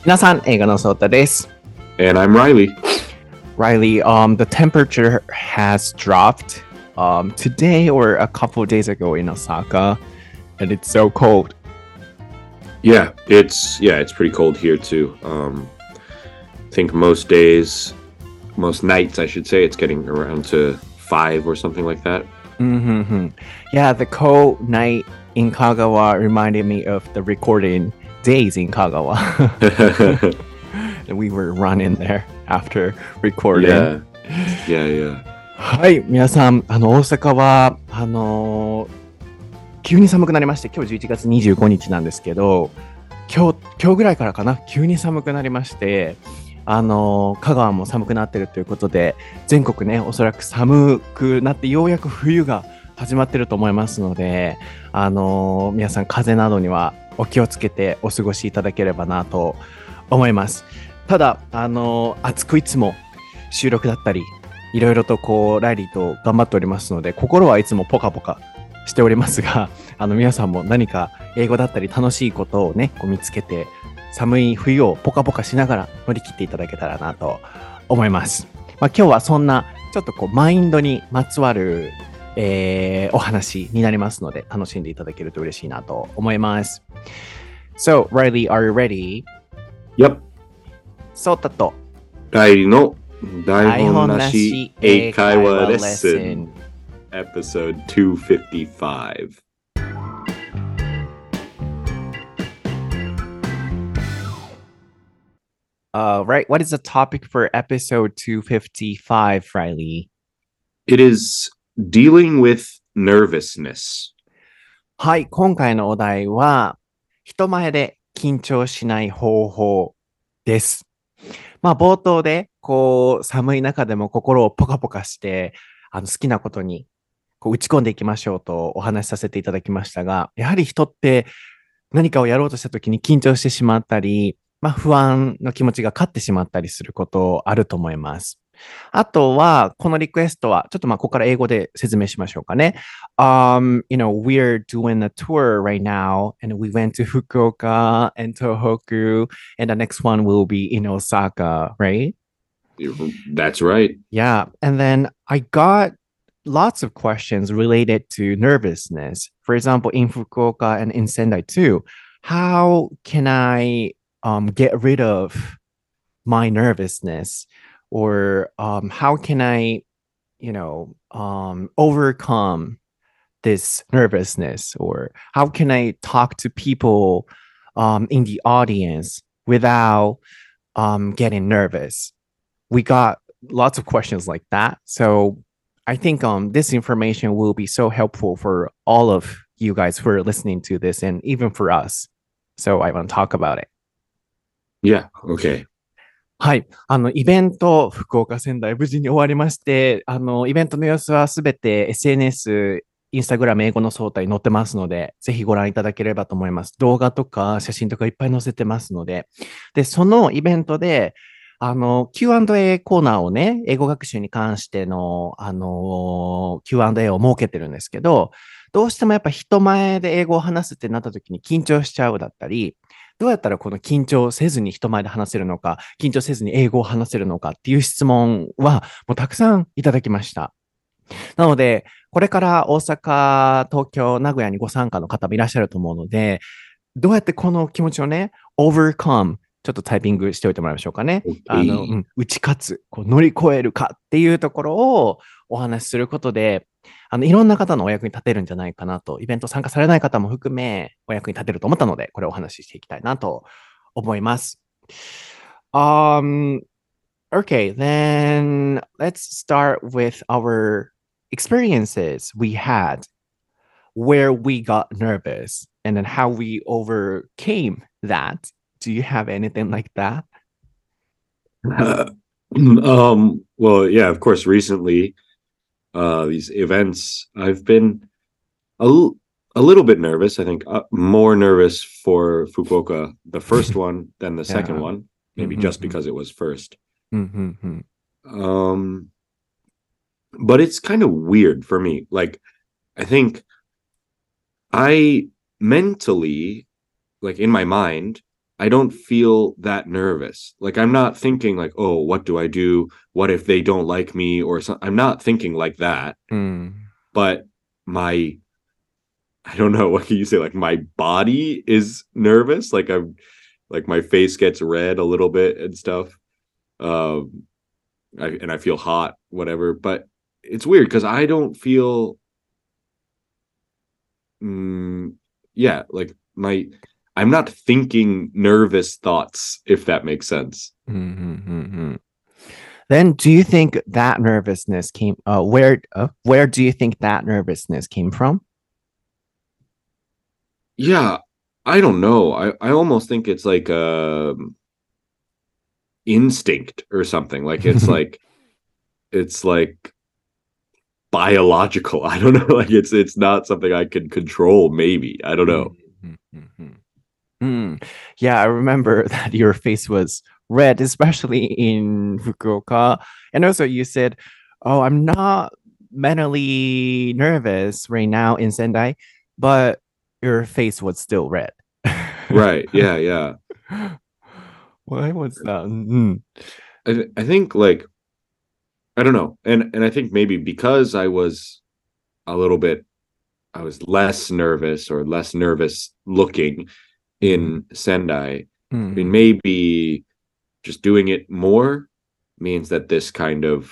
皆さん、英語のソータです。 And I'm Riley. Riley, the temperature has dropped today or a couple of days ago in Osaka, and it's so cold. Yeah, it's pretty cold here too. I think most nights, I should say, it's getting around to 5 or something like that. Mm-hmm. Yeah, the cold night in Kagawa reminded me of the recording days in Kagawa. And we were running there after recording. Yeah. はい、皆さん、大阪は、急に寒くなりまして、今日11月25日なんですけど、今日ぐらいからかな、急に寒くなりまして、香川も寒くなってるということで、全国ね、おそらく寒くなってようやく冬が始まってると思いますので、皆さん風邪などにはお気をつけてお過ごしいただければなと思います。ただ、暑くいつも収録だったり、いろいろとこう、ライリーと頑張っておりますので、心はいつもポカポカしておりますが、皆さんも何か英語だったり楽しいことをね、こう見つけて、寒い冬をポカポカしながら乗り切っていただけたらなと思います。まあ、今日はそんなちょっとこうマインドにまつわる、お話になりますので楽しんでいただけると嬉しいなと思います。So, Riley, are you ready? Yep. そうたと Riley の台本なし英会話レッスン Episode 255. Right, what is the topic for episode 255, Riley? It is dealing with nervousness. はい、今回のお題は人前で緊張しない方法です。まあ冒頭でこう寒い中でも心をポカポカして好きなことにこう打ち込んでいきましょうとお話しさせていただきましたが、やはり人って何かをやろうとした時に緊張してしまったり、まあ不安の気持ちが勝ってしまったりすることあると思います。あとは、このリクエストは、ちょっとまあ、ここから英語で説明しましょうかね。we're doing a tour right now, and we went to Fukuoka and Tohoku, and the next one will be in Osaka, right? That's right. Yeah, and then I got lots of questions related to nervousness. For example, in Fukuoka and in Sendai too, how can I get rid of my nervousness? Or how can I, overcome this nervousness? Or how can I talk to people in the audience without getting nervous? We got lots of questions like that. So I think this information will be so helpful for all of you guys who are listening to this and even for us. So I want to talk about it. Yeah, okay. はい。イベント、福岡仙台、無事に終わりまして、イベントの様子はすべて SNS、インスタグラム、英語の総体に載ってますので、ぜひご覧いただければと思います。動画とか写真とかいっぱい載せてますので。で、そのイベントで、Q&A コーナーをね、英語学習に関しての、Q&A を設けてるんですけど、どうしてもやっぱ人前で英語を話すってなった時に緊張しちゃうだったり、どうやったらこの緊張せずに人前で話せるのか、緊張せずに英語を話せるのかっていう質問はもうたくさんいただきました。なので、これから大阪、東京、名古屋にご参加の方もいらっしゃると思うので、どうやってこの気持ちをね、overcome、ちょっとタイピングしておいてもらいましょうかね。打ち勝つ、こう乗り越えるかっていうところをお話しすることで、いろんな方のお役に立てるんじゃないかなと、イベント参加されない方も含め、お役に立てると思ったので、これをお話ししていきたいなと思います。Okay, then let's start with our experiences we had where we got nervous and then how we overcame that. Do you have anything like that? Well, yeah, of course, recently, these events, I've been a little bit nervous. I think more nervous for Fukuoka, the first one, than the second one, maybe just because it was first. But it's kind of weird for me. Like, I think I mentally, like in my mind, I don't feel that nervous. Like I'm not thinking like, oh, what do I do? What if they don't like me or something? I'm not thinking like that. うん。 But my I don't know, what can you say? Like my body is nervous. Like I'm like my face gets red a little bit and stuff. Um and I feel hot, whatever. But it's weird because I don't feel mm, yeah, like my I'm not thinking nervous thoughts, if that makes sense. うん、うん、うん、うん。Then do you think that nervousness came, where do you think that nervousness came from? Yeah, I don't know. I almost think it's like instinct or something. Like it's like biological. I don't know. Like it's not something I can control. Maybe I don't know. うん、うん、うん。Mm. Yeah, I remember that your face was red, especially in Fukuoka. And also, you said, "Oh, I'm not mentally nervous right now in Sendai," but your face was still red. Right? Yeah, yeah. Why was that? Mm. I think like I don't know, and I think maybe because a little bit I was less nervous or less nervous looking Mm. in Sendai, and Mm. maybe just doing it more means that this kind of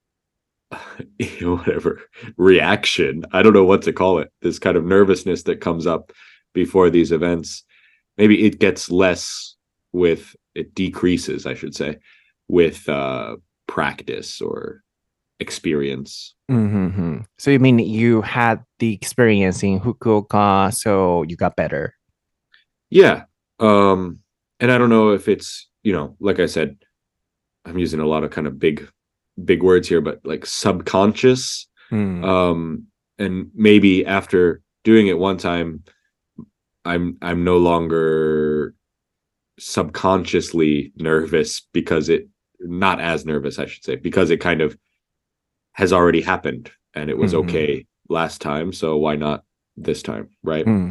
whatever reaction, I don't know what to call it, this kind of nervousness that comes up before these events, maybe it gets less with it decreases, I should say, with practice or experience. Mm-hmm. So you mean you had the experience in Fukuoka, so you got better? Yeah. And I don't know if it's, like I said, I'm using a lot of kind of big words here, but like subconscious. Mm. Um, and maybe after doing it one time, I'm no longer subconsciously nervous because it not as nervous, I should say, because it kind of has already happened and it was Mm-hmm. okay last time. So why not this time? Right. うん、うん、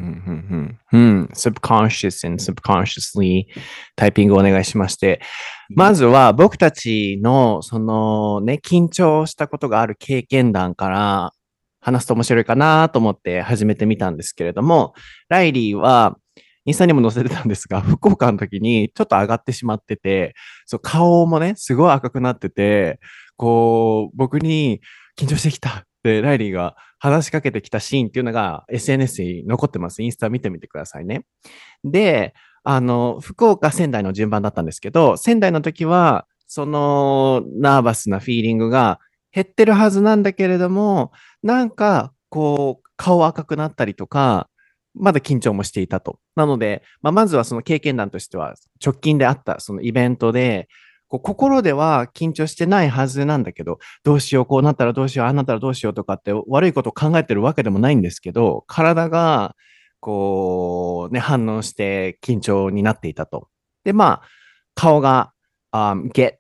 うん、うん。subconscious and subconsciously タイピングお願いしまして。まずは僕たちの、そのね、緊張したことがある経験談から話すと面白いかなと思って始めてみたんですけれども、ライリーは、インスタにも載せてたんですが、福岡の時にちょっと上がってしまってて、そう、顔もね、すごい赤くなってて、こう、僕に緊張してきたってライリーが話しかけてきたシーンっていうのが SNS に残ってます。インスタ見てみてくださいね。で、福岡、仙台の順番だったんですけど、仙台の時は、そのナーバスなフィーリングが減ってるはずなんだけれども、なんか、こう、顔赤くなったりとか、まだ緊張もしていたと。なので、まずはその経験談としては、直近であったそのイベントで、こう心では緊張してないはずなんだけど、どうしよう、こうなったらどうしよう、ああなったらどうしようとかって悪いことを考えてるわけでもないんですけど、体がこうね、反応して緊張になっていたと。で、顔が、get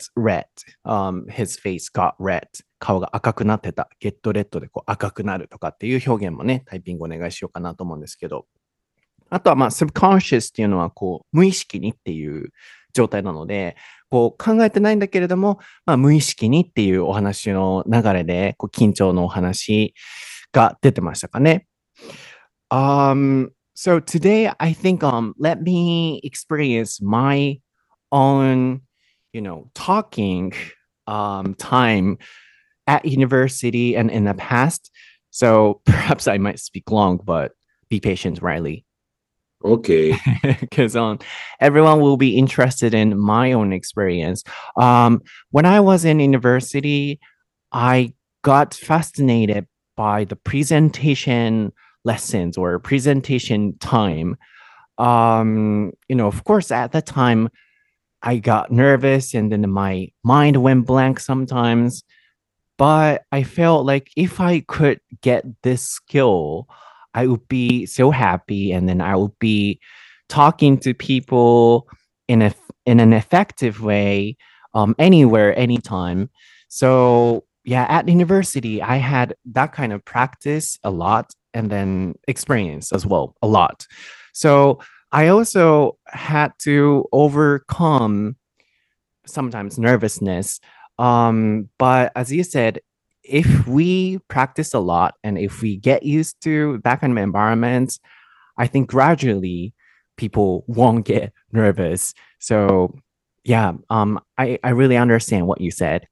red、his face got red。顔が赤くなってた。get red でこう赤くなるとかっていう表現もね、タイピングお願いしようかなと思うんですけど。あとはsubconscious っていうのはこう、無意識にっていう状態なので、こう考えてないんだけれども、無意識にっていうお話の流れで、こう緊張のお話が出てましたかね。So today I think let me experience my own, talking time at university and in the past. So perhaps I might speak long, but be patient, Riley. Okay. Because everyone will be interested in my own experience. When I was in university, I got fascinated by the presentation lessons or presentation time. Of course, at that time, I got nervous and then my mind went blank sometimes. But I felt like if I could get this skill, I would be so happy, and then I would be talking to people in a in an effective way, anywhere, anytime. So yeah, at university, I had that kind of practice a lot, and then experience as well a lot. So I also had to overcome sometimes nervousness. But as you said, if we practice a lot and if we get used to that kind of environments, I think gradually people won't get nervous. So yeah, I really understand what you said.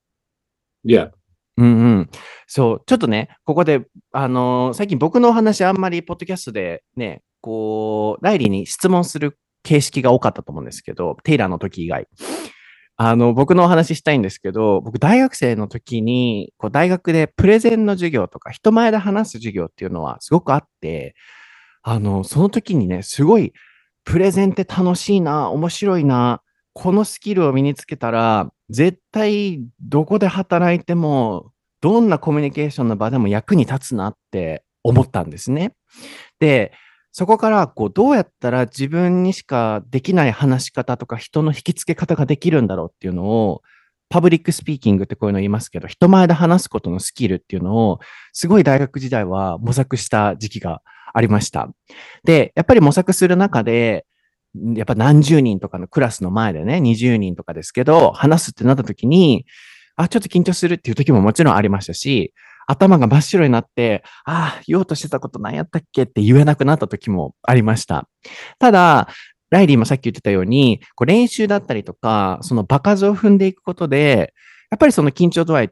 Yeah. うんうん。そう、ちょっとね、ここで、最近僕のお話あんまりポッドキャストでね、こう、ライリーに質問する形式が多かったと思うんですけど、テイラーの時以外。僕のお話ししたいんですけど、僕大学生の時に、こう大学でプレゼンの授業とか、人前で話す授業っていうのはすごくあって、その時にね、すごい、プレゼンって楽しいな、面白いな、このスキルを身につけたら、絶対どこで働いても、どんなコミュニケーションの場でも役に立つなって思ったんですね。で、そこから、こう、どうやったら自分にしかできない話し方とか人の引き付け方ができるんだろうっていうのを、パブリックスピーキングってこういうの言いますけど、人前で話すことのスキルっていうのを、すごい大学時代は模索した時期がありました。で、やっぱり模索する中で、やっぱ何十人とかのクラスの前でね、20人とかですけど、話すってなった時に、あ、ちょっと緊張するっていう時ももちろんありましたし、頭が真っ白になって、ああ、言おうとしてたこと何やったっけって言えなくなった時もありました。ただ、ライリーもさっき言ってたように、こう練習だったりとか、その場数を踏んでいくことで、やっぱりその緊張度合いって、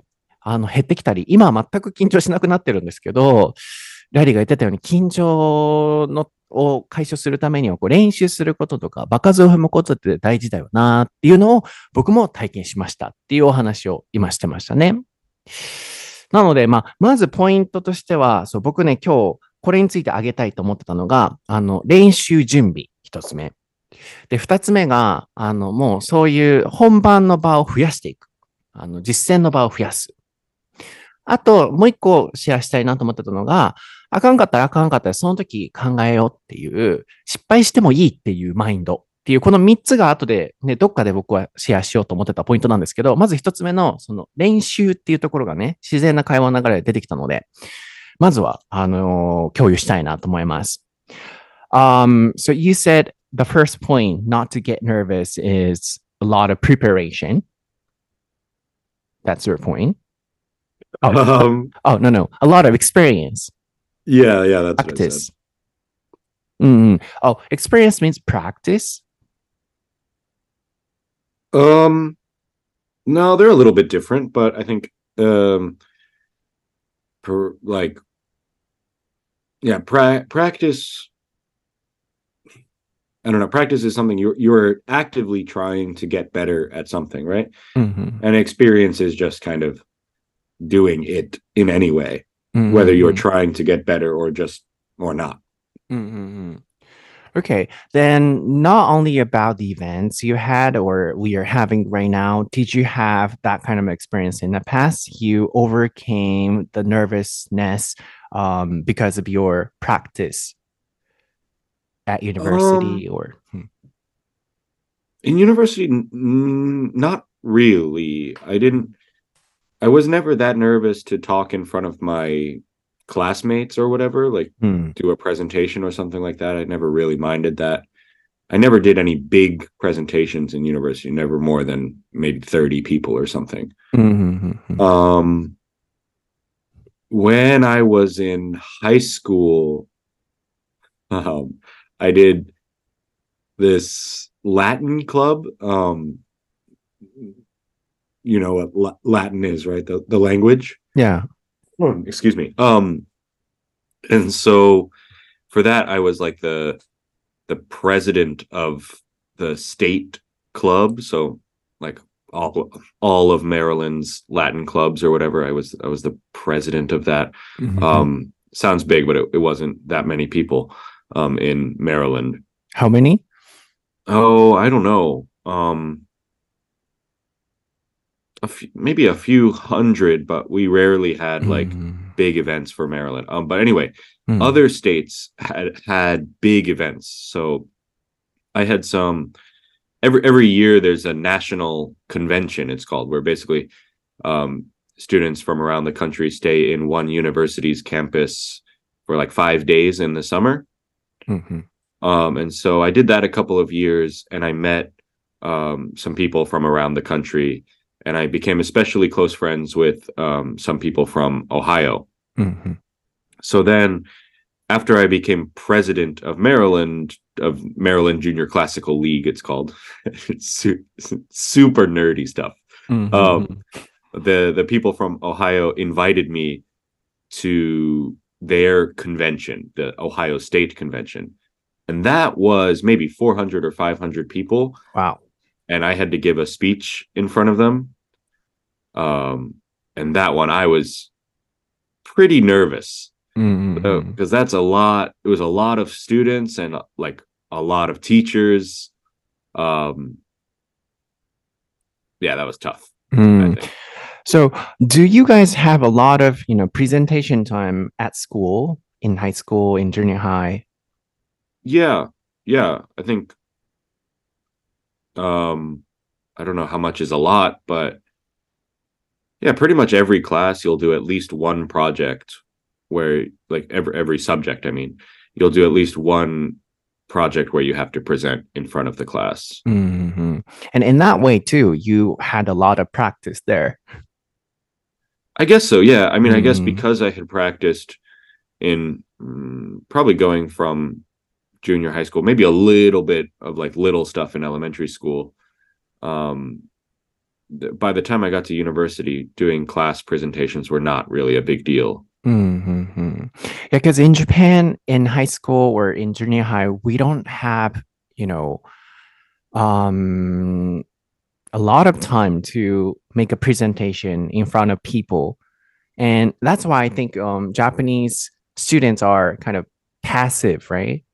減ってきたり、今は全く緊張しなくなってるんですけど、ライリーが言ってたように、緊張のを解消するためには、こう練習することとか、場数を踏むことって大事だよなっていうのを僕も体験しましたっていうお話を今してましたね。なので、まずポイントとしては、そう、僕ね、今日、これについて挙げたいと思ってたのが、練習準備、一つ目。で、二つ目が、もうそういう本番の場を増やしていく。実践の場を増やす。あと、もう一個シェアしたいなと思ってたのが、あかんかったらあかんかったらその時考えようっていう、失敗してもいいっていうマインドっていう、この三つが後でね、どっかで僕はシェアしようと思ってたポイントなんですけど、まず一つ目のその練習っていうところがね、自然な会話の流れで出てきたので、まずは、共有したいなと思います。So you said the first point not to get nervous is a lot of preparation. That's your point. Oh, oh no. A lot of experience. Yeah, that's what I said. Practice. Oh, experience means practice. No, they're a little bit different, but I think practice. I don't know. Practice is something you're actively trying to get better at something, right? Mm-hmm. And experience is just kind of doing it in any way, Mm-hmm. whether you're trying to get better or not. Mm-hmm. Okay, then not only about the events you had or we are having right now, did you have that kind of experience in the past? You overcame the nervousness because of your practice at university or in university, not really. I was never that nervous to talk in front of my classmates or whatever, like do a presentation or something like that. I never really minded that. I never did any big presentations in university, never more than maybe 30 people or something. When I was in high school, I did this Latin club. You know what Latin is, right? The language. Yeah. Excuse me. And so for that, I was like the president of the state club. So like all of Maryland's Latin clubs or whatever. I was the president of that. Sounds big, but it wasn't that many people in Maryland. How many? Oh, I don't know. Maybe a few hundred, but we rarely had like big events for Maryland. But anyway, other states had big events. So I had some every year there's a national convention, it's called, where basically students from around the country stay in one university's campus for like 5 days in the summer. And so I did that a couple of years, and I met some people from around the country, and I became especially close friends with some people from Ohio. うん So then, after I became president of Maryland Junior Classical League, it's called. It's super nerdy stuff. うんうんうん Um, the people from Ohio invited me to their convention, the Ohio State Convention. And that was maybe 400 or 500 people. Wow. And I had to give a speech in front of them. Um, and that one, I was pretty nervous うんうんうん because that's a lot. It was a lot of students and like a lot of teachers. Um, yeah, that was tough, I think. So, do you guys have a lot of, presentation time at school, in high school, in junior high? Yeah, yeah. I think I don't know how much is a lot, but yeah, pretty much every class you'll do at least one project where like every subject, I mean, you'll do at least one project where you have to present in front of the class. hmm And in that way, too, you had a lot of practice there. I guess so, yeah. I mean, I guess うん because I had practiced in probably going from junior high school, maybe a little bit of like little stuff in elementary school. Um, by the time I got to university, doing class presentations were not really a big deal. Mm-hmm. Yeah, because in Japan, in high school or in junior high, we don't have, you know, um, a lot of time to make a presentation in front of people. And that's why I think Japanese students are kind of passive, right?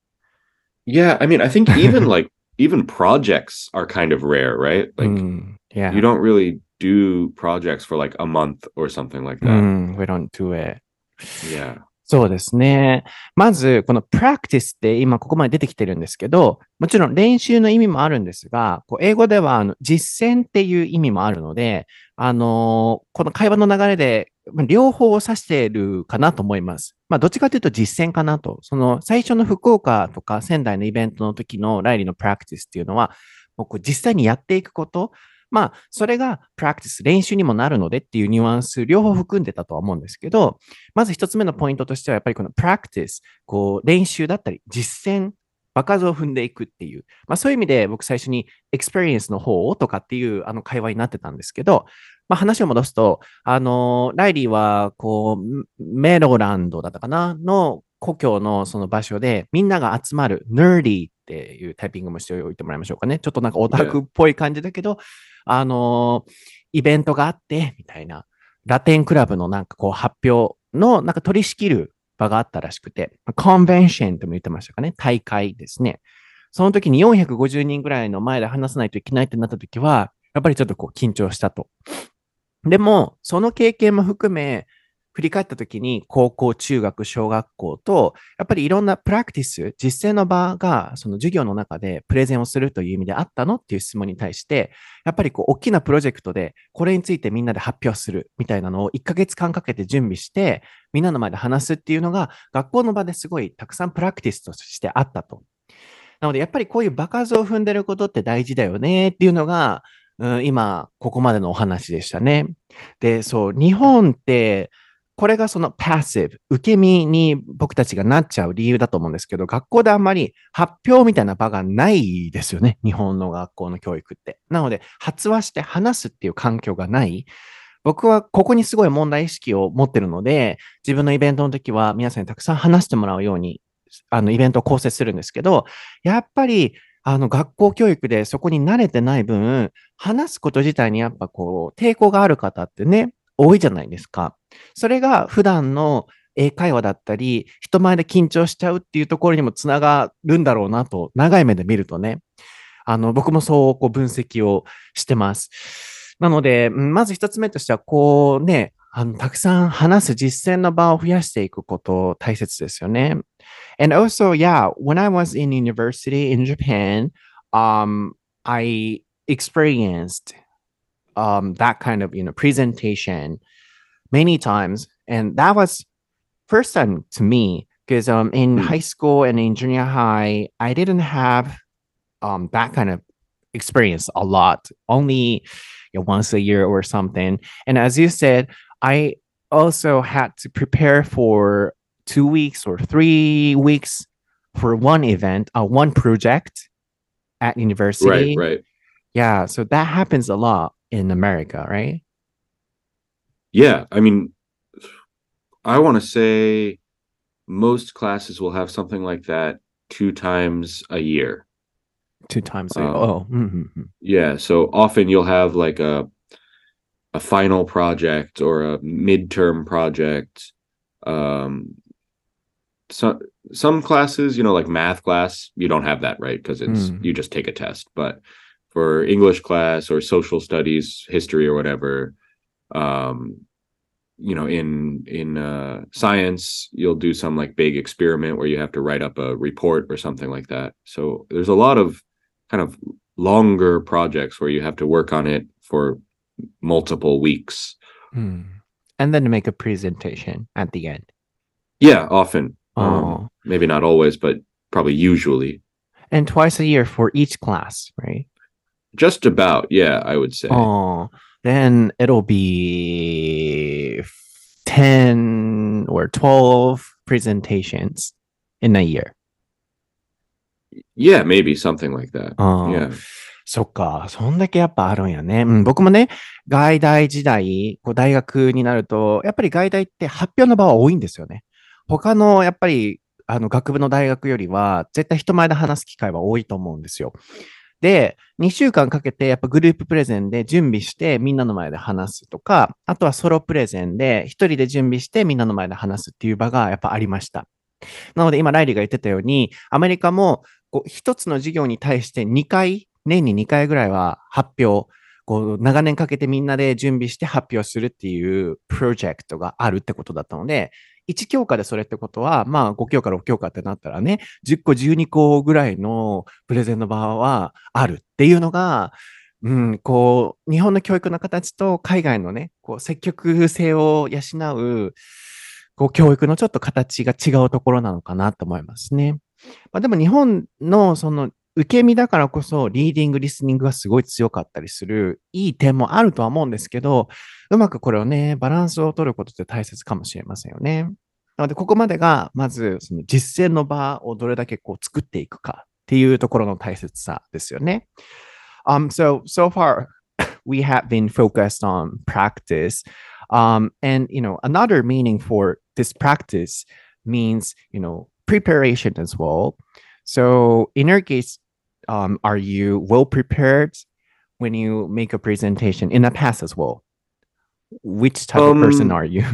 Yeah, I mean, I think even projects are kind of rare, right? Like you Yeah. don't really do projects for like a month or something like that. We don't do it. Yeah. そうですね。まず、この practice って今ここまで出てきてるんですけど、もちろん練習の意味もあるんですが、こう英語では実践っていう意味もあるので、この会話の流れで両方を指しているかなと思います。まあ、どっちかというと実践かなと。その最初の福岡とか仙台のイベントの時のライリーの practice っていうのは、僕実際にやっていくこと、まあ、それが practice、練習にもなるのでっていうニュアンス、両方含んでたとは思うんですけど、まず一つ目のポイントとしては、やっぱりこの practice、こう練習だったり、実践、場数を踏んでいくっていう、まあ、そういう意味で僕最初に experience の方をとかっていう会話になってたんですけど、まあ、話を戻すと、ライリーはこうメロランドだったかなの故郷のその場所でみんなが集まる nerdy っていうタイピングもしておいてもらいましょうかね。ちょっとなんかオタクっぽい感じだけど、イベントがあって、みたいな、ラテンクラブのなんかこう発表のなんか取り仕切る場があったらしくて、コンベンションとも言ってましたかね、大会ですね。その時に450人ぐらいの前で話さないといけないってなった時は、やっぱりちょっとこう緊張したと。でも、その経験も含め、振り返った時に高校、中学、小学校と、やっぱりいろんなプラクティス、実践の場がその授業の中でプレゼンをするという意味であったのっていう質問に対して、やっぱりこう大きなプロジェクトでこれについてみんなで発表するみたいなのを1ヶ月間かけて準備して、みんなの前で話すっていうのが学校の場ですごいたくさんプラクティスとしてあったと。なのでやっぱりこういう場数を踏んでることって大事だよねっていうのが、今、ここまでのお話でしたね。で、そう、日本って、これがそのパッシブ、受け身に僕たちがなっちゃう理由だと思うんですけど、学校であんまり発表みたいな場がないですよね。日本の学校の教育って。なので、発話して話すっていう環境がない。僕はここにすごい問題意識を持ってるので、自分のイベントの時は皆さんにたくさん話してもらうように、イベントを構成するんですけど、やっぱり、学校教育でそこに慣れてない分、話すこと自体にやっぱこう、抵抗がある方ってね、多いじゃないですか。それが普段の英会話だったり、人前で緊張しちゃうっていうところにもつながるんだろうなと、長い目で見るとね、僕もそうこう分析をしてます。なので、まず一つ目としては、こうね、たくさん話す実践の場を増やしていくこと大切ですよね。And also, yeah, when I was in university in Japan, I experienced that kind of presentation many times, and that was first time to me Because in Hmm. high school and in junior high, I didn't have that kind of experience a lot, only once a year or something. And as you said, I also had to prepare for 2 weeks or 3 weeks for one event, one project at Right, university. right. Yeah, so that happens a lot in America, right? Yeah, I mean, I want to say most classes will have something like that 2 times a year. 2 times a Um, oh, mhm. yeah, so often you'll have like a final project or a midterm project. Um, so some classes, like math class, you don't have that, right? Because you just take a test. But for English class or social studies, history or whatever, um, in science, you'll do some like big experiment where you have to write up a report or something like that. So there's a lot of kind of longer projects where you have to work on it for multiple weeks. And then make a presentation at the end. Yeah, often. Oh, Maybe not always, but probably usually. and twice a year for each class, right? Just about, yeah, I would say. Oh, then it'll be 10 or 12 presentations in a year. Yeah, maybe something like that. ああ、 Yeah. そっか。そんだけやっぱあるんやね。うん、僕もね、外大時代、大学になると、やっぱり外大って発表の場は多いんですよね。他の、やっぱり、学部の大学よりは、絶対人前で話す機会は多いと思うんですよ。で、2週間かけて、やっぱグループプレゼンで準備して、みんなの前で話すとか、あとはソロプレゼンで、一人で準備して、みんなの前で話すっていう場がやっぱありました。なので、今、ライリーが言ってたように、アメリカも、一つの授業に対して2回、年に2回ぐらいは発表、長年かけてみんなで準備して発表するっていうプロジェクトがあるってことだったので、1教科でそれってことは、まあ5教科、6教科ってなったらね、10個、12個ぐらいのプレゼンの場はあるっていうのが、日本の教育の形と海外のね、積極性を養う、教育のちょっと形が違うところなのかなと思いますね。まあ、でも日本のその受け身だからこそリーディング、リスニングがすごい強かったりするいい点もあるとは思うんですけど、うまくこれをね、バランスを取ることって大切かもしれませんよね。なので、ここまでがまずその実践の場をどれだけ作っていくかっていうところの大切さですよね。So far, we have been focused on practice. And, another meaning for this practice means, preparation as well. So in your case, are you well prepared when you make a presentation in the past as well? Which type of person are you?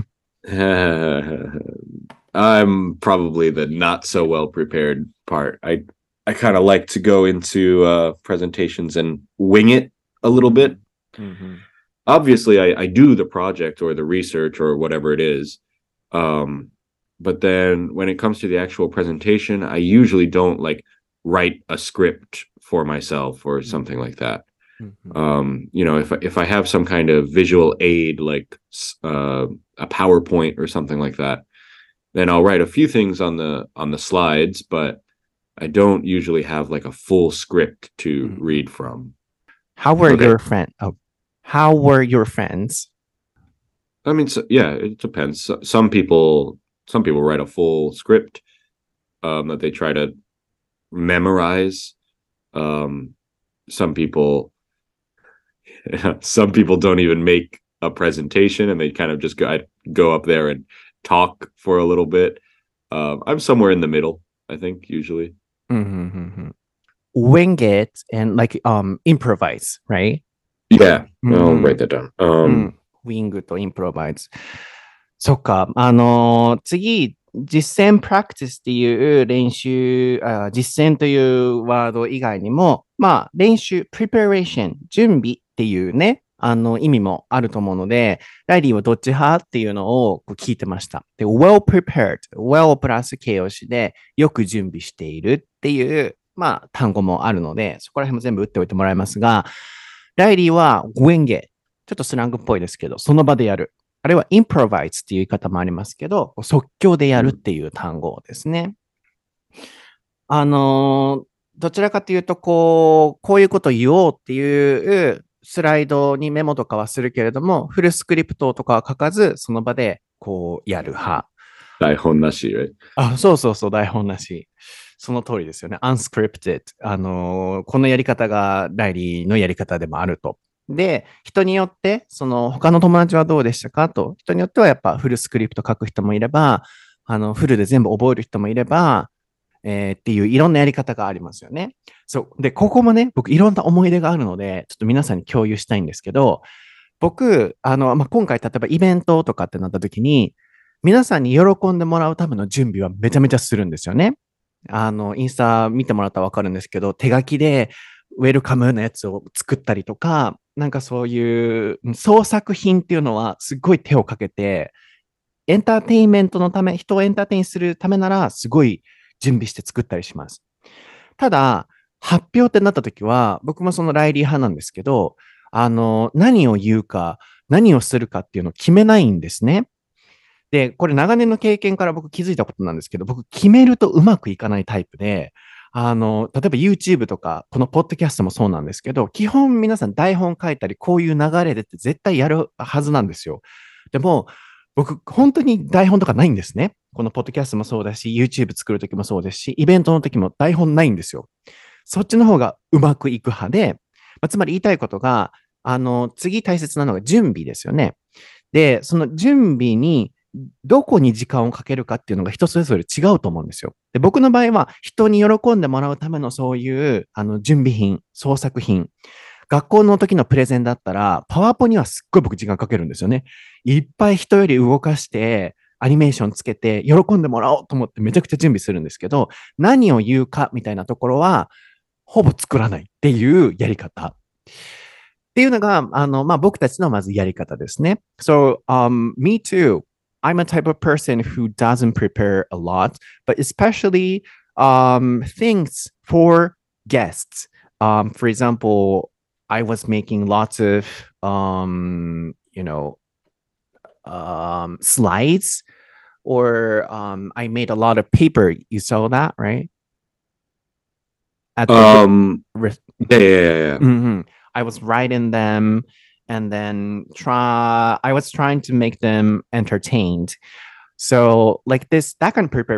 I'm probably the not so well prepared part. I kind of like to go into presentations and wing it a little bit. Mm-hmm. Obviously, I do the project or the research or whatever it is. But then when it comes to the actual presentation, I usually don't like write a script for myself or something like that. Mm-hmm. If I have some kind of visual aid like a PowerPoint or something like that, then I'll write a few things on the slides, but I don't usually have like a full script to read from. How were your friends? How were your friends? I mean, yeah, it depends. Some people write a full script that they try to memorize. Some people don't even make a presentation and they kind of just go up there and talk for a little bit. I'm somewhere in the middle, I think, usually. Mm-hmm. Wing it and like improvise, right? Yeah, I'll write that down. ウィングとインプロバイズ。そっか。次、実践プラクティスっていう練習、実践というワード以外にも、まあ、練習、preparation、準備っていうね、意味もあると思うので、ライリーはどっち派っていうのを聞いてました。で、well prepared、well プラス形容詞で、よく準備しているっていう、まあ、単語もあるので、そこら辺も全部打っておいてもらいますが、ライリーは wing it。ちょっとスラングっぽいですけど、その場でやる。 あるいは improvise っていう言い方もありますけど、即興でやるっていう単語ですね。どちらかというと、こういうこと言おうっていうスライドにメモとかはするけれども、フルスクリプトとかは書かず、その場でこうやる派。 台本なし、right? そうそうそう、台本なし。その通りですよね。unscripted。このやり方がライリーのやり方でもあると。で、人によって、他の友達はどうでしたかと。人によってはやっぱフルスクリプト書く人もいれば、フルで全部覚える人もいれば、っていういろんなやり方がありますよね。そう。で、ここもね、僕いろんな思い出があるので、ちょっと皆さんに共有したいんですけど、僕、今回例えばイベントとかってなった時に、皆さんに喜んでもらうための準備はめちゃめちゃするんですよね。インスタ見てもらったらわかるんですけど、手書きでウェルカムのやつを作ったりとか、なんかそういう創作品っていうのはすっごい手をかけて、エンターテインメントのため、人をエンターテインするためなら、すごい準備して作ったりします。ただ、発表ってなった時は、僕もそのライリー派なんですけど、何を言うか、何をするかっていうのを決めないんですね。で、これ長年の経験から僕気づいたことなんですけど、僕決めるとうまくいかないタイプで、例えば YouTube とか、このポッドキャストもそうなんですけど、基本皆さん台本書いたり、こういう流れでって絶対やるはずなんですよ。でも、僕、本当に台本とかないんですね。このポッドキャストもそうだし、YouTube 作るときもそうですし、イベントの時も台本ないんですよ。そっちの方がうまくいく派で、つまり言いたいことが、次大切なのが準備ですよね。で、その準備にどこに時間をかけるかっていうのが人それぞれ違うと思うんですよ。で、僕の場合は人に喜んでもらうためのそういう準備品、創作品。学校の時のプレゼンだったら、パワーポにはすっごい僕時間かけるんですよね。いっぱい人より動かして、アニメーションつけて、喜んでもらおうと思ってめちゃくちゃ準備するんですけど、何を言うかみたいなところは、ほぼ作らないっていうやり方。っていうのが、僕たちのまずやり方ですね。So, me too. I'm a type of person who doesn't prepare a lot, but especially things for guests. For example, I was making lots of, slides, or I made a lot of paper. You saw that, right? At the Yeah. I was writing them and then I was trying to make them entertained. So like this, that can prepare.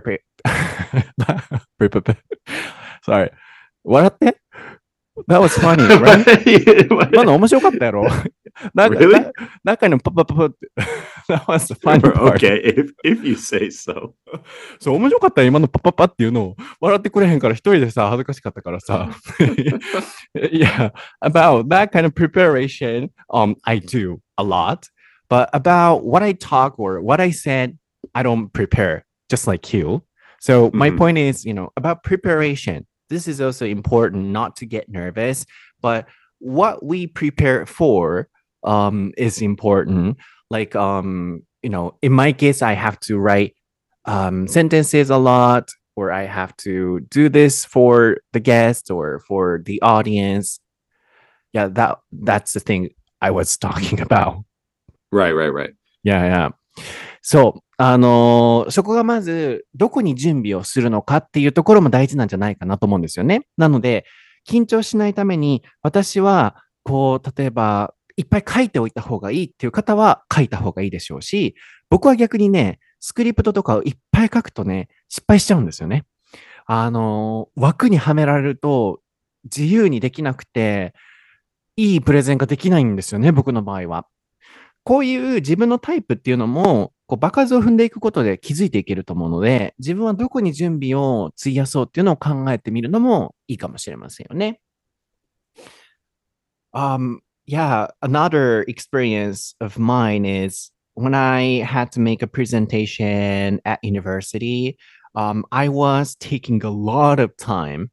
Sorry. 笑って That was funny, right? 今の面白かったやろ Really? 中にパパパパって That was the funny part. Okay, if you say so. そう、面白かったよ、今のパパパっていうのを。笑ってくれへんから一人でさ、恥ずかしかったからさ。Yeah, about that kind of preparation, I do a lot. But about what I talk or what I said, I don't prepare, just like you. So my point is, about preparation. This is also important not to get nervous, but what we prepare for is important. Like, in my case, I have to write sentences a lot, or I have to do this for the guest or for the audience. Yeah, that's the thing I was talking about. Right. Yeah, yeah. そう。そこがまず、どこに準備をするのかっていうところも大事なんじゃないかなと思うんですよね。なので、緊張しないために、私は、例えば、いっぱい書いておいた方がいいっていう方は書いた方がいいでしょうし、僕は逆にね、スクリプトとかをいっぱい書くとね、失敗しちゃうんですよね。枠にはめられると自由にできなくて、いいプレゼンができないんですよね、僕の場合は。こういう自分のタイプっていうのも、場数を踏んでいくことで気づいていけると思うので、自分はどこに準備を費やそうっていうのを考えてみるのもいいかもしれませんよね。Yeah, another experience of mine is when I had to make a presentation at university, I was taking a lot of time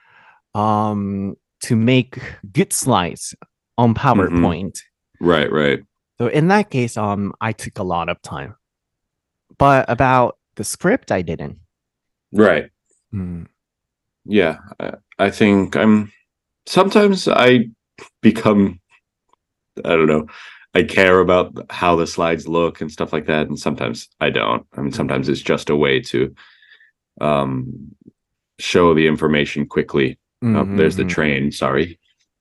to make good slides on PowerPoint. Right. So in that case, I took a lot of time. But about the script, I didn't. Right. Yeah, I think sometimes I become, I don't know, I care about how the slides look and stuff like that, and sometimes I don't. I mean, sometimes it's just a way to um, show the information quickly. Oh, there's the train. Sorry.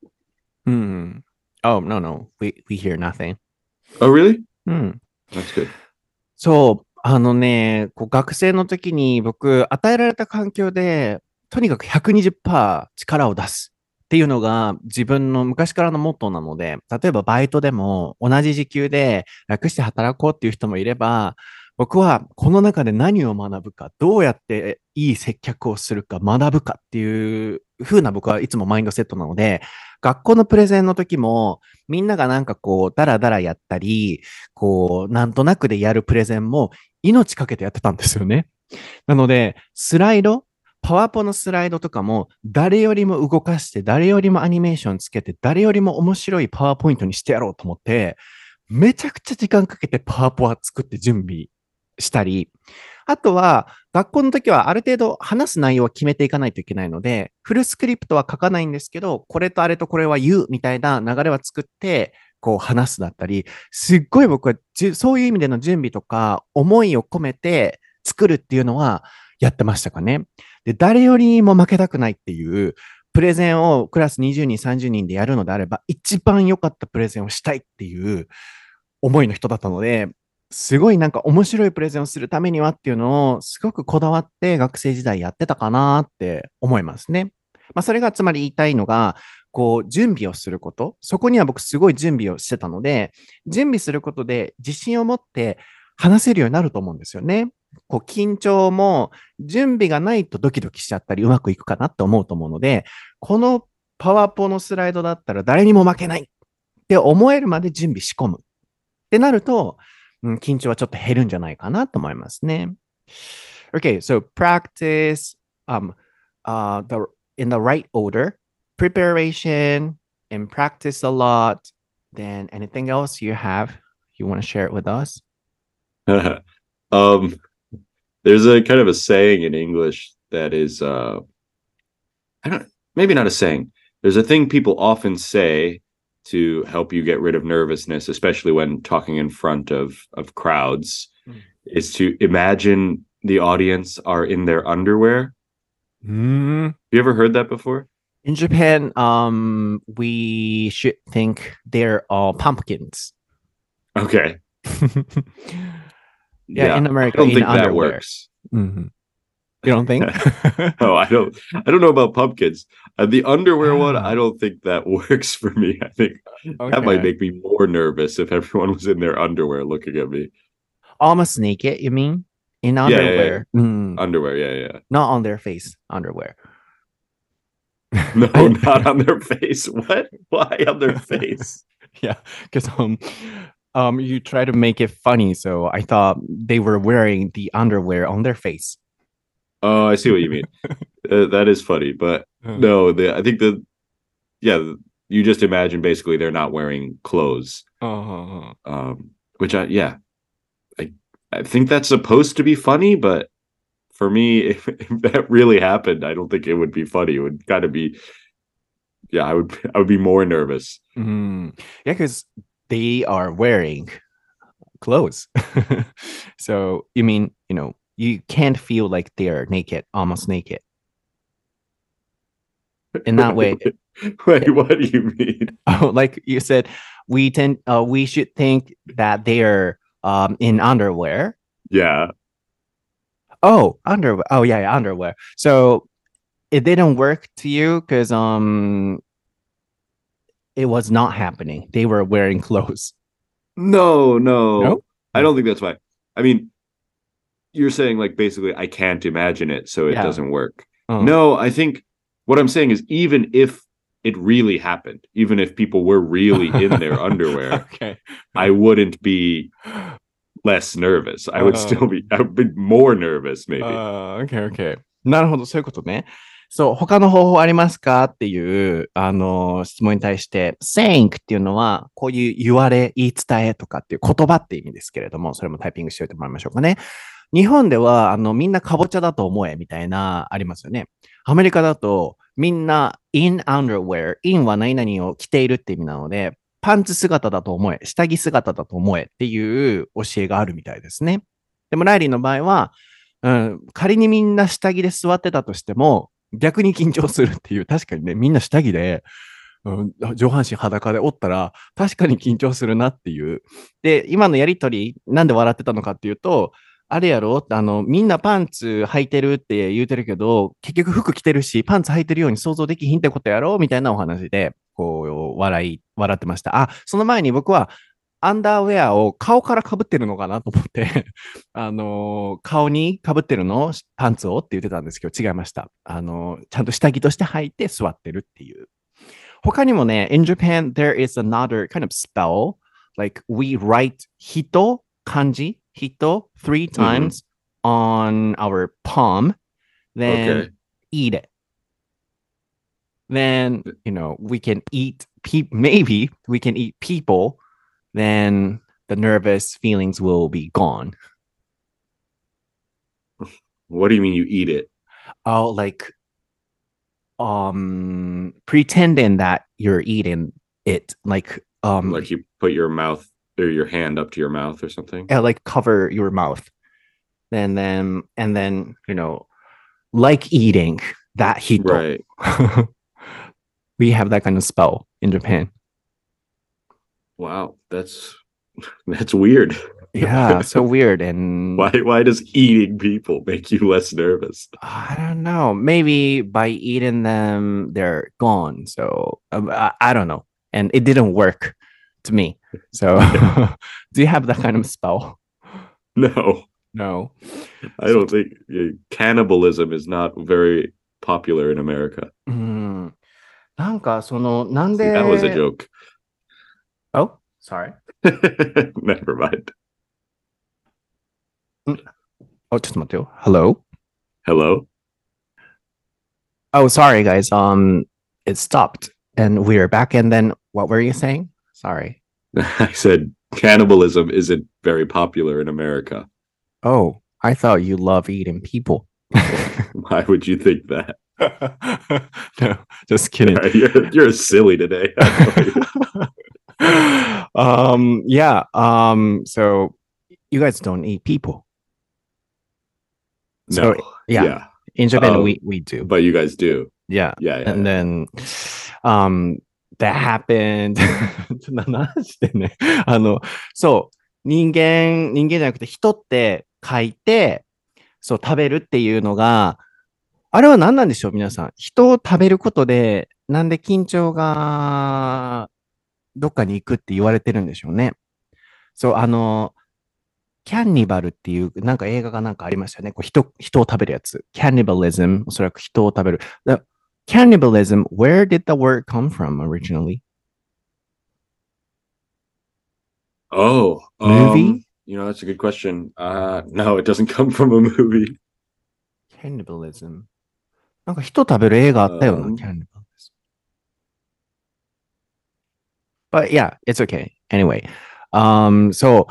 Oh, no, no. We hear nothing. Oh, really? うん。 That's good. そう、こう学生の時に僕、与えられた環境で、とにかく120%力を出すっていうのが自分の昔からのモットーなので、例えばバイトでも同じ時給で楽して働こうっていう人もいれば、僕はこの中で何を学ぶか、どうやっていい接客をするか学ぶかっていう風な僕はいつもマインドセットなので、学校のプレゼンの時もみんながなんかこう、ダラダラやったり、こう、なんとなくでやるプレゼンも命かけてやってたんですよね。なので、スライド、パワポのスライドとかも誰よりも動かして、誰よりもアニメーションつけて、誰よりも面白いパワーポイントにしてやろうと思って、めちゃくちゃ時間かけてパワポは作って準備したり、あとは、学校の時はある程度話す内容を決めていかないといけないので、フルスクリプトは書かないんですけど、これとあれとこれは言うみたいな流れは作って、こう話すだったり、すっごい僕はそういう意味での準備とか、思いを込めて作るっていうのはやってましたかね。で、誰よりも負けたくないっていう、プレゼンをクラス20人、30人でやるのであれば、一番良かったプレゼンをしたいっていう思いの人だったので、すごいなんか面白いプレゼンをするためにはっていうのをすごくこだわって学生時代やってたかなって思いますね。まあそれがつまり言いたいのが、こう準備をすること。そこには僕すごい準備をしてたので、準備することで自信を持って話せるようになると思うんですよね。こう緊張も準備がないとドキドキしちゃったりうまくいくかなって思うと思うので、このパワポのスライドだったら誰にも負けないって思えるまで準備仕込むってなると、緊張はちょっと減るんじゃないかなと思いますね。Okay, so practice in the right order, preparation and practice a lot. Then anything else you want to share it with us? um, there's a kind of a saying in English that is I don't maybe not a saying. There's a thing people often say to help you get rid of nervousness, especially when talking in front of crowds, is to imagine the audience are in their underwear. You ever heard that before? In Japan, we should think they're all pumpkins. Okay. Yeah, in I America, don't in think that underwear. works. You don't think? No, I don't know about pumpkins. The underwear one, I don't think that works for me. I think that might Okay. make me more nervous if everyone was in their underwear looking at me. Almost naked, you mean? In Yeah, yeah, yeah. underwear. Underwear, yeah. Not on their face, underwear. No, not on their face. What? Why on their face? Yeah, because you try to make it funny, so I thought they were wearing the underwear on their face. Oh, I see what you mean. That is funny, but no, I think you just imagine basically they're not wearing clothes. Which I think that's supposed to be funny, but for me, if that really happened, I don't think it would be funny. It would kind of be, yeah, I would be more nervous. Yeah, because they are wearing clothes. So you mean, you can't feel like they're naked, almost naked. In that way. Wait, what do you mean? Like you said, we should think that they're in underwear. Yeah. Oh, underwear. Oh, yeah, underwear. So it didn't work to you because it was not happening. They were wearing clothes. No. No? I don't think that's why. I mean, you're saying like basically I can't imagine it, so it doesn't work. No, I think what I'm saying is even if it really happened, even if people were really in their underwear, I wouldn't be less nervous. I would be more nervous, maybe. Okay. なるほど、そういうことね。そう、他の方法ありますかっていう、質問に対して、saying っていうのは、こういう言われ、言い伝えとかっていう言葉って意味ですけれども、それもタイピングしておいてもらいましょうかね。日本では、みんなかぼちゃだと思えみたいな、ありますよね。アメリカだと、みんな in underwear、in は何々を着ているって意味なので、 パンツ姿だと思え、下着姿だと思えっていう教えがあるみたいですね。でもライリーの場合は、仮にみんな下着で座ってたとしても、逆に緊張するっていう、確かにね、みんな下着で、上半身裸でおったら、確かに緊張するなっていう。で、今のやりとり、なんで笑ってたのかっていうと、あれやろみんなパンツ履いてるって言うてるけど、結局服着てるし、パンツ履いてるように想像できひんってことやろみたいなお話で、こう、笑ってました。あ、その前に僕は、アンダーウェアを顔から被ってるのかなと思って顔に被ってるのパンツをって言ってたんですけど、違いました。ちゃんと下着として履いて座ってるっていう。他にもね、in Japan, there is another kind of spell. Like we write 人、漢字、人 three Mhm. times on our palm, then Okay. eat it. Then, we can eat, maybe we can eat people, then the nervous feelings will be gone. What do you mean you eat it? Oh, like pretending that you're eating it, Like you put your mouth or your hand up to your mouth or something? like cover your mouth. And then, like eating that hito. Right. We have that kind of spell in Japan. Wow. That's weird. Yeah, so weird. And Why does eating people make you less nervous? I don't know. Maybe by eating them, they're gone. So I don't know. And it didn't work to me. So do you have that kind of spell? No, No. I don't think cannibalism is not very popular in America. うん。なんか、なん See, that was a で、 joke. Oh, sorry. Never mind. ちょっと待ってよ。Hello? Hello? Oh, sorry, guys. It stopped and we are back. And then what were you saying? Sorry. I said cannibalism isn't very popular in America. Oh, I thought you love eating people. Why would you think that? No, just kidding. You're silly today. Yeah. So you guys don't eat people. So No. yeah, Yeah. in Japan we do. But you guys do. Yeah. Yeah. And then that happened. ちょっと何してんね。そう、人間じゃなくて人って書いて、そう、食べるっていうのが、あれは何なんでしょう、皆さん。人を食べることで、なんで緊張がどっかに行くって言われてるんでしょうね。そう、キャンニバルっていう、なんか映画がなんかありましたよね。人を食べるやつ。Cannibalism、おそらく人を食べる。Cannibalism, where did the word come from originally? Oh, Movie? That's a good question. No, it doesn't come from a movie. Cannibalism. なんか人食べる映画あったよな、Cannibalism. But yeah, it's okay. Anyway. そう。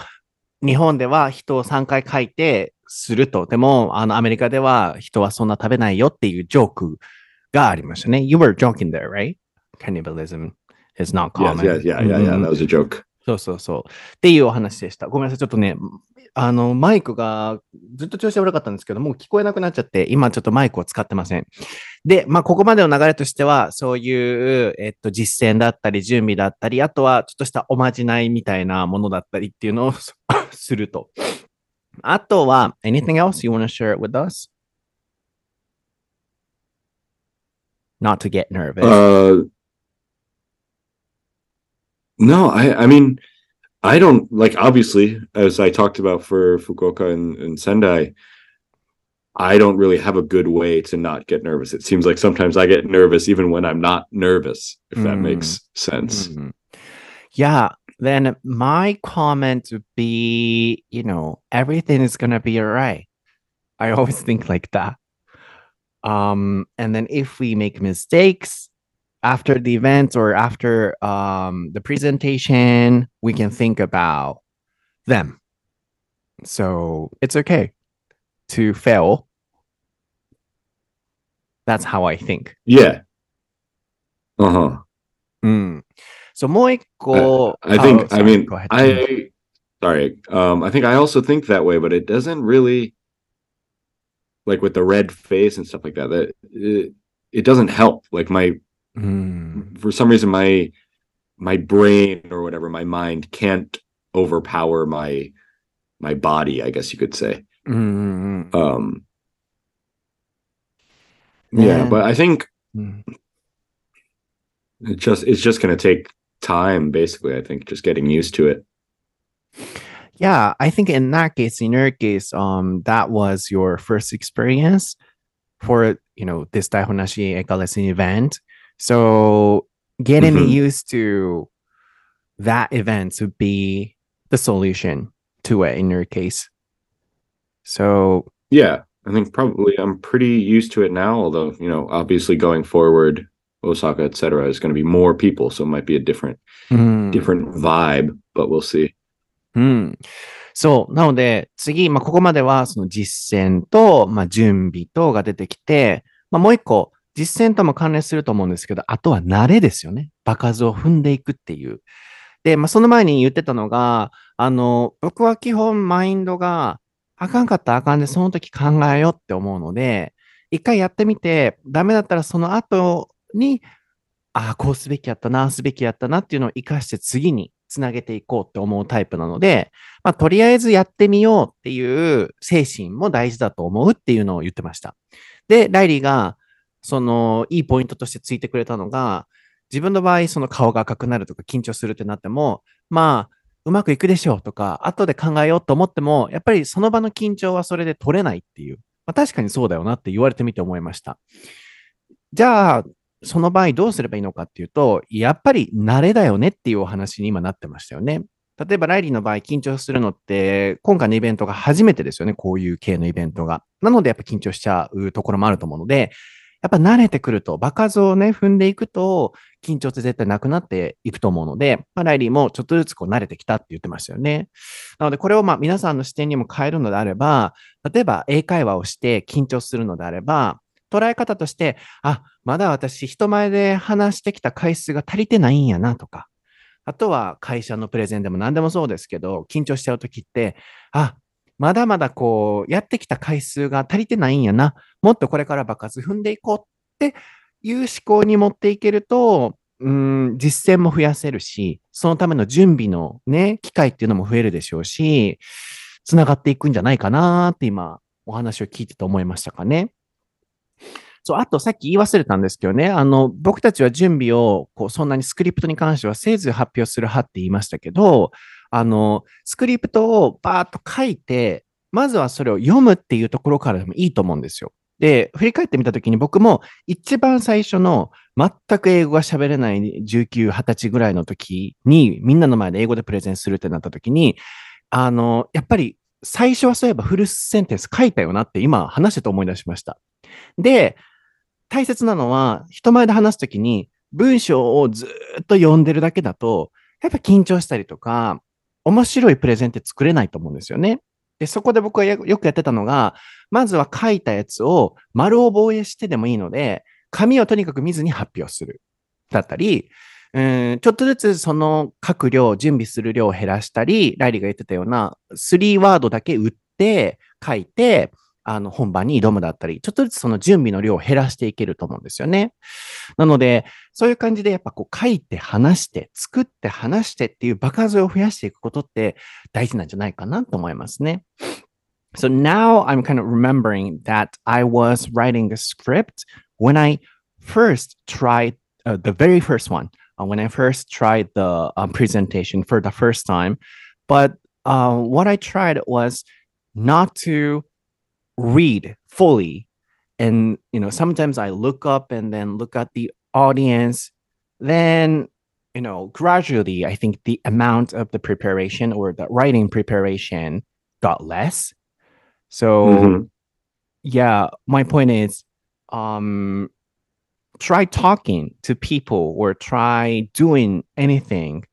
日本では人を3回書いてすると。でも、アメリカでは人はそんな食べないよっていうジョークがありましたね。You were joking there, right? Cannibalism is not common. Yeah. That was a joke. そうそうそう。っていうお話でした。ごめんなさい。ちょっとね、マイクがずっと調子悪かったんですけど、もう聞こえなくなっちゃって、今ちょっとマイクを使ってません。で、まあ、ここまでの流れとしては、そういう、実践だったり、準備だったり、あとはちょっとしたおまじないみたいなものだったりっていうのをすると。あとは、anything else you want to share it with us? Not to get nervous. No, I mean, I don't like, obviously, as I talked about for Fukuoka and Sendai, I don't really have a good way to not get nervous. It seems like sometimes I get nervous even when I'm not nervous, if that makes sense. Yeah, then my comment would be, everything is going to be all right. I always think like that. And then if we make mistakes after the event or after the presentation, we can think about them. So it's okay to fail. That's how I think. Yeah. Uh-huh. So もう一 I, 個、 I oh, think, I sorry, mean, go ahead. sorry. I think I also think that way, but it doesn't really, like with the red face and stuff like that, it doesn't help. Like for some reason, my brain or whatever, my mind can't overpower my body, I guess you could say. Yeah, but I think it's just going to take time, basically. I think just getting used to it. Yeah, I think in that case, in your case, that was your first experience for, this Daihonashi Eka lesson event. So getting Mhm. used to that event would be the solution to it in your case. So Yeah, I think probably I'm pretty used to it now, although, obviously going forward, Osaka, etc., is going to be more people, so it might be a different うん。 vibe, but we'll see. うん。そう。なので、次、ここまでは、その実践と、準備とが出てきて、もう一個、実践とも関連すると思うんですけど、あとは慣れですよね。場数を踏んでいくっていう。で、その前に言ってたのが、僕は基本マインドが、あかんかったらあかんで、その時考えようって思うので、一回やってみて、ダメだったらその後に、こうすべきやったな、すべきやったなっていうのを活かして次につなげていこうって思うタイプなので、とりあえずやってみようっていう精神も大事だと思うっていうのを言ってました。で、ライリーが、いいポイントとしてついてくれたのが、自分の場合、その顔が赤くなるとか緊張するってなっても、うまくいくでしょうとか、後で考えようと思っても、やっぱりその場の緊張はそれで取れないっていう。確かにそうだよなって言われてみて思いました。じゃあ、その場合どうすればいいのかっていうと、やっぱり慣れだよねっていうお話に今なってましたよね。例えばライリーの場合緊張するのって、今回のイベントが初めてですよね。こういう系のイベントが。なのでやっぱ緊張しちゃうところもあると思うので、やっぱ慣れてくると、場数をね、踏んでいくと、緊張って絶対なくなっていくと思うので、ライリーもちょっとずつ慣れてきたって言ってましたよね。なので、これを皆さんの視点にも変えるのであれば、例えば英会話をして緊張するのであれば、捉え方として、まだ私人前で話してきた回数が足りてないんやなとか、あとは会社のプレゼンでも何でもそうですけど、緊張しちゃうときって、まだまだやってきた回数が足りてないんやな。もっとこれから爆発踏んでいこうっていう思考に持っていけると、実践も増やせるし、そのための準備のね、機会っていうのも増えるでしょうし、つながっていくんじゃないかなって今、お話を聞いてて思いましたかね。そう、あとさっき言い忘れたんですけどね、僕たちは準備を、そんなにスクリプトに関してはせず発表する派って言いましたけど、スクリプトをバーッと書いて、まずはそれを読むっていうところからでもいいと思うんですよ。で、振り返ってみたときに僕も一番最初の全く英語が喋れない19、20歳ぐらいの時にみんなの前で英語でプレゼンするってなった時に、やっぱり最初はそういえばフルセンテンス書いたよなって今話してて思い出しました。で、大切なのは、人前で話すときに、文章をずっと読んでるだけだと、やっぱ緊張したりとか、面白いプレゼンって作れないと思うんですよね。で、そこで僕はよくやってたのが、まずは書いたやつを丸覚えしてでもいいので、紙をとにかく見ずに発表する。だったり、ちょっとずつその書く量、準備する量を減らしたり、ライリーが言ってたような、3ワードだけ打って書いて、本番に挑むだったり、ちょっとずつその準備の量を減らしていけると思うんですよね。なので、そういう感じでやっぱ書いて話して、作って話してっていう場数を増やしていくことって大事なんじゃないかなと思いますね。So now I'm kind of remembering that I was writing a script when I first tried the very first one, when I first tried the presentation for the first time. But what I tried was not to read fully. And, sometimes I look up and then look at the audience. Then, gradually, I think the amount of the preparation or the writing preparation got less. So, Mhm. yeah, my point is, um, try talking to people or try doing anything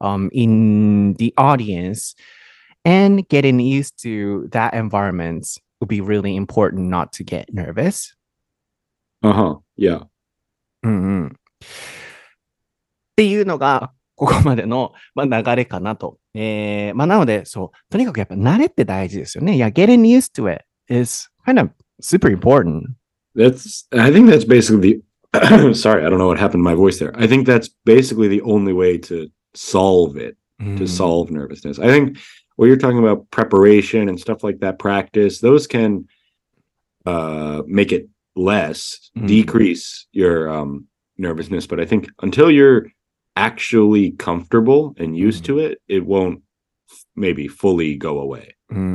in the audience and getting used to that environment would be really important not to get nervous. Uh-huh. Yeah. うんうん。っていうのが、 ここまでの、流れかなと。なので、そう、とにかくやっぱ慣れって大事ですよね。いや、getting used to it is kind of super important. I think that's basically the, sorry, I don't know what happened to my voice there. I think that's basically the only way to solve it, to solve nervousness. I think what you're talking about, preparation and stuff like that, practice, those can make it less, decrease your nervousness. But I think until you're actually comfortable and used to it, it won't maybe fully go away.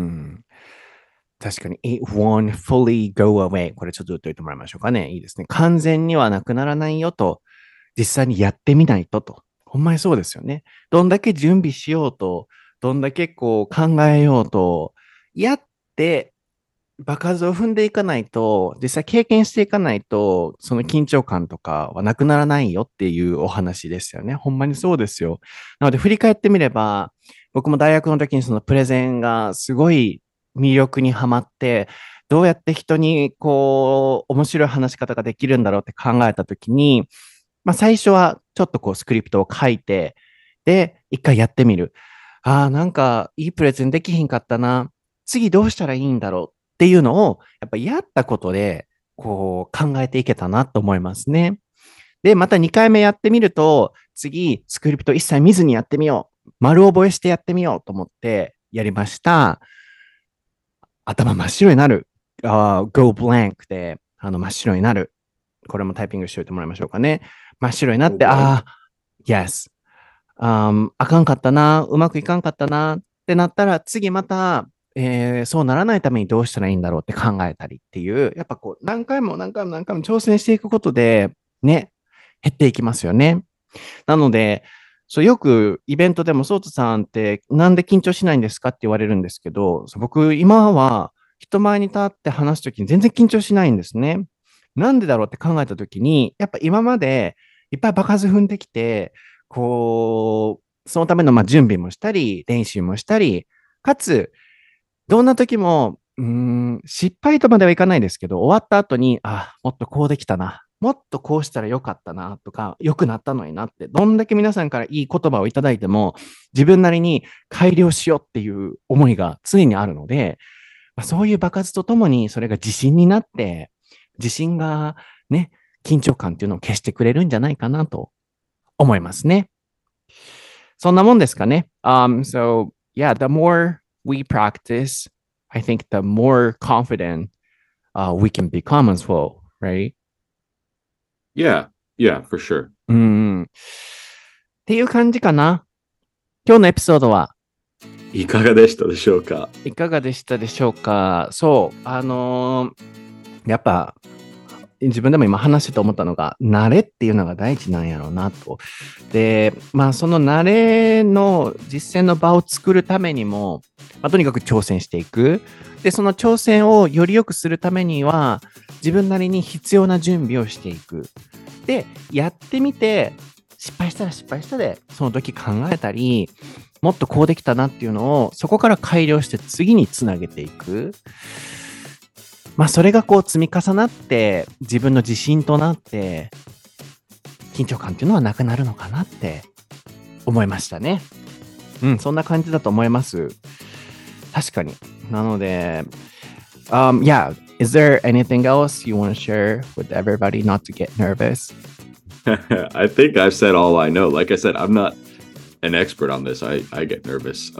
確かに、it won't fully go away. これちょっと言っておいてもらいましょうかね。いいですね。完全にはなくならないよと、実際にやってみないとと。ほんまにそうですよね。どんだけ準備しようと、どんだけこう考えようと、やって場数を踏んでいかないと、実際経験していかないと、その緊張感とかはなくならないよっていうお話ですよね。ほんまにそうですよ。なので振り返ってみれば、僕も大学の時にそのプレゼンがすごい魅力にはまって、どうやって人にこう、面白い話し方ができるんだろうって考えた時に、最初はちょっとこうスクリプトを書いて、で、一回やってみる。ああ、なんかいいプレゼンできひんかったな。次どうしたらいいんだろうっていうのを、やっぱやったことで、こう考えていけたなと思いますね。で、また2回目やってみると、次、スクリプト一切見ずにやってみよう。丸覚えしてやってみようと思ってやりました。頭真っ白になる。go blank で、真っ白になる。これもタイピングしておいてもらいましょうかね。真っ白になって、yes。あかんかったな、うまくいかんかったなってなったら、次また、そうならないためにどうしたらいいんだろうって考えたりっていう、やっぱこう、何回も挑戦していくことで、ね、減っていきますよね。なので、そうよくイベントでも、ソーツさんってなんで緊張しないんですかって言われるんですけど、僕、今は人前に立って話すときに全然緊張しないんですね。なんでだろうって考えたときに、やっぱ今までいっぱい場数踏んできて、こう、そのための準備もしたり、練習もしたり、かつ、どんな時も、失敗とまではいかないですけど、終わった後に、もっとこうできたな。もっとこうしたらよかったなとか、良くなったのになって、どんだけ皆さんからいい言葉をいただいても、自分なりに改良しようっていう思いが常にあるので、そういう場数とともにそれが自信になって、自信がね、緊張感っていうのを消してくれるんじゃないかなと思いますね。そんなもんですかね。So, yeah, the more we practice, I think the more confident we can become as well, right? Yeah, yeah, for sure. っていう感じかな。今日のエピソードはいかがでしたでしょうか？ いかがでしたでしょうか？そう、やっぱ自分でも今話してて思ったのが、慣れっていうのが大事なんやろうなと。で、その慣れの実践の場を作るためにも、とにかく挑戦していく。で、その挑戦をより良くするためには、自分なりに必要な準備をしていく。で、やってみて、失敗したら失敗したで、その時考えたり、もっとこうできたなっていうのを、そこから改良して次につなげていく。それがこう積み重なって自分の自信となって緊張感っていうのはなくなるのかなって思いましたね。そんな感じだと思います。確かに。なので、yeah, is there anything else you want to share with everybody not to get nervous? I think I've said all I know. Like I said, I'm not an expert on this. I get nervous.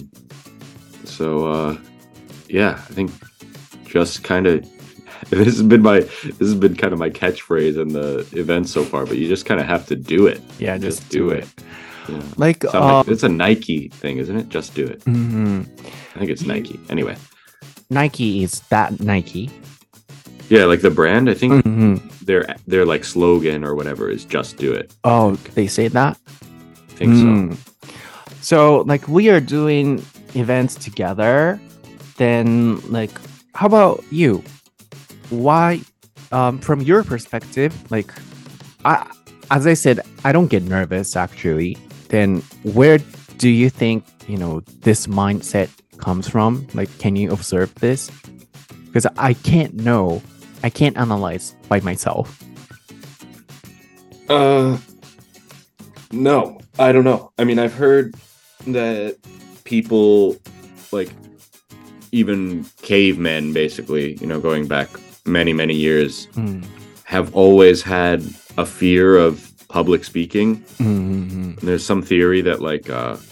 Yeah, I think just kind of this has been kind of my catchphrase in the event so far, but you just kind of have to do it. Yeah, just do it. Yeah. Like it's a Nike thing, isn't it? Just do it. I think it's Nike. Anyway, Nike is that Nike. Yeah, like the brand. I think their like slogan or whatever is just do it. Oh, they say that? I think so. So like we are doing events together, then like how about you? Why, from your perspective, like, as I said, I don't get nervous actually. Then where do you think, this mindset comes from? Like, can you observe this? Because I can't analyze by myself. No. I don't know. I mean, I've heard that people, like, even cavemen, basically, going back many, many years, have always had a fear of public speaking. There's some theory that, like,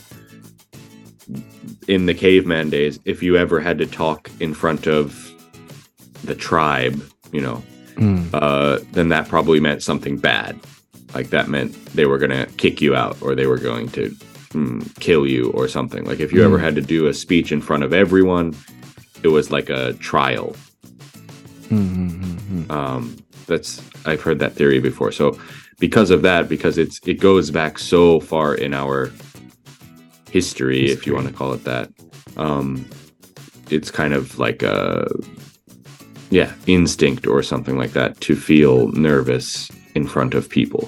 in the caveman days, if you ever had to talk in front of the tribe, then that probably meant something bad. Like, that meant they were going to kick you out, or they were going to kill you or something. Like, if you ever had to do a speech in front of everyone, it was like a trial. I've heard that theory before. So because of that, because it goes back so far in our history, if you want to call it that, it's kind of like a instinct or something like that to feel nervous in front of people.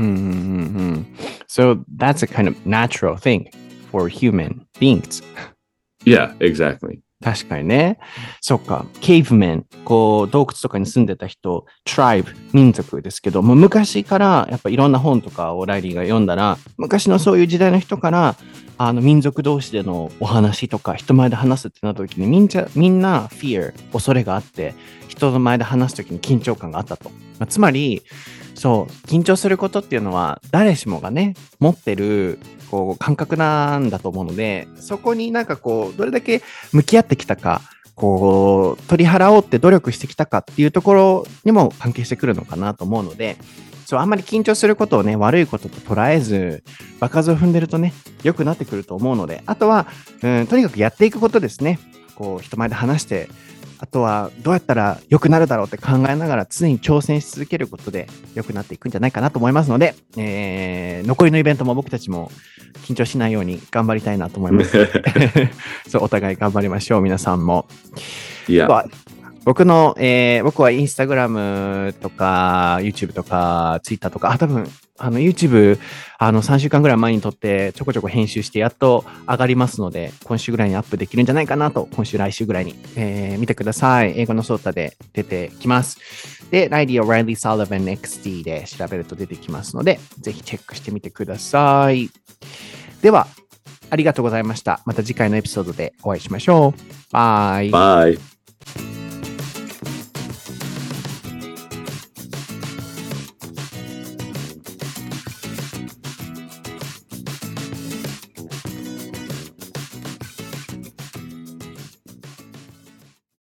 So that's a kind of natural thing for human beings. Yeah, exactly. 確かにね。そっか。ケーブメン、洞窟とかに住んでた人、トライブ、民族ですけど、もう昔からやっぱいろんな本とかをライリーが読んだら、昔のそういう時代の人から、民族同士でのお話とか、人前で話すってなった時に、みんな fear、恐れがあって、人の前で話す時に緊張感があったと。つまり、そう、緊張することっていうのは、誰しもがね、持ってる、感覚なんだと思うので、そこになんかどれだけ向き合ってきたか、取り払おうって努力してきたかっていうところにも関係してくるのかなと思うので、そう、あんまり緊張することをね、悪いことと捉えず、場数を踏んでるとね、良くなってくると思うので、あとは、とにかくやっていくことですね。人前で話して、あとはどうやったら良くなるだろうって考えながら常に挑戦し続けることで良くなっていくんじゃないかなと思いますので、残りのイベントも僕たちも緊張しないように頑張りたいなと思います。そう、お互い頑張りましょう、皆さんも。 Yeah. 僕はインスタグラムとか YouTube とか Twitter とか、多分YouTube 3週間ぐらい前に撮ってちょこちょこ編集してやっと上がりますので、今週ぐらいにアップできるんじゃないかなと、今週来週ぐらいに、見てください。英語のソータで出てきます。で、ライリー・オライリー・サリバン XD で調べると出てきますので、ぜひチェックしてみてください。では、ありがとうございました。また次回のエピソードでお会いしましょう。バイ。 Bye.